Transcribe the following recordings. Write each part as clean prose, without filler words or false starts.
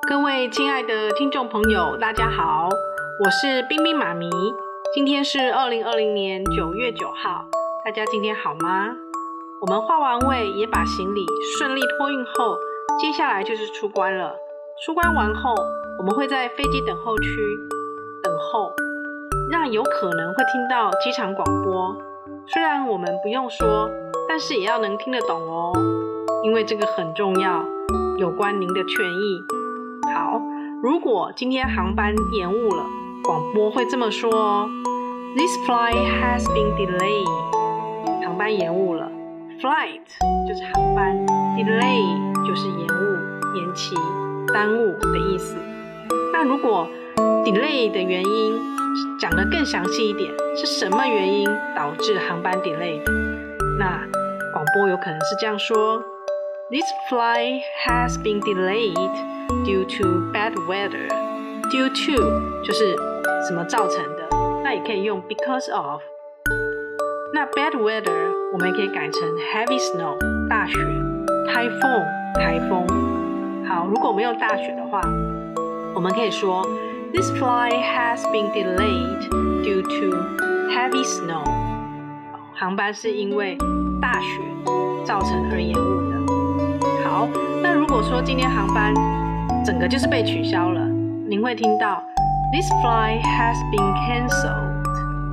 各位亲爱的听众朋友，大家好，我是冰冰妈咪。今天是2020年9月9号，大家今天好吗？我们化完位，也把行李顺利托运后，接下来就是出关了。出关完后，我们会在飞机等候区等候，让有可能会听到机场广播。虽然我们不用说，但是也要能听得懂哦，因为这个很重要，有关您的权益。好，如果今天航班延误了，广播会这么说哦 ：This flight has been delayed。航班延误了 ，flight 就是航班 ，delay 就是延误、延期、耽误的意思。那如果 delay 的原因讲得更详细一点，是什么原因导致航班 delay 的？那广播有可能是这样说 ：This flight has been delayed.Due to bad weather. Due to 就是什么造成的，那也可以用 because of。那 bad weather 我们也可以改成 heavy snow 大雪 typhoon 台风。好，如果我们用大雪的话，我们可以说 This flight has been delayed due to heavy snow. 航班是因为大雪造成而延误的。好，那如果说今天航班整个就是被取消了，您会听到 This flight has been cancelled.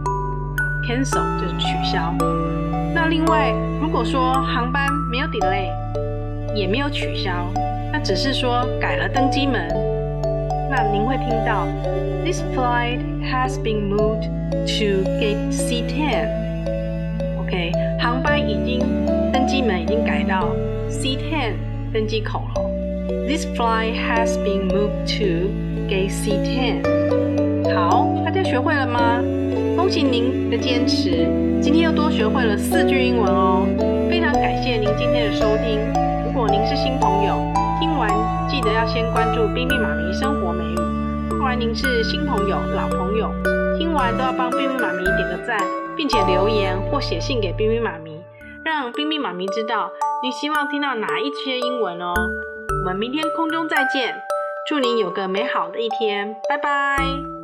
Cancel 就是取消。那另外，如果说航班没有 delay， 也没有取消，那只是说改了登机门，那您会听到 This flight has been moved to gate C10. OK， 航班登机门已经改到 C10 登机口了。This flight has been moved to gate C10. 好，大家学会了吗？恭喜您的坚持，今天又多学会了4句英文哦。非常感谢您今天的收听。如果您是新朋友，听完记得要先关注冰冰妈咪生活美语。不管您是新朋友、老朋友，听完都要帮冰冰妈咪点个赞，并且留言或写信给冰冰妈咪，让冰冰妈咪知道您希望听到哪一些英文哦。我们明天空中再见，祝您有个美好的一天，拜拜。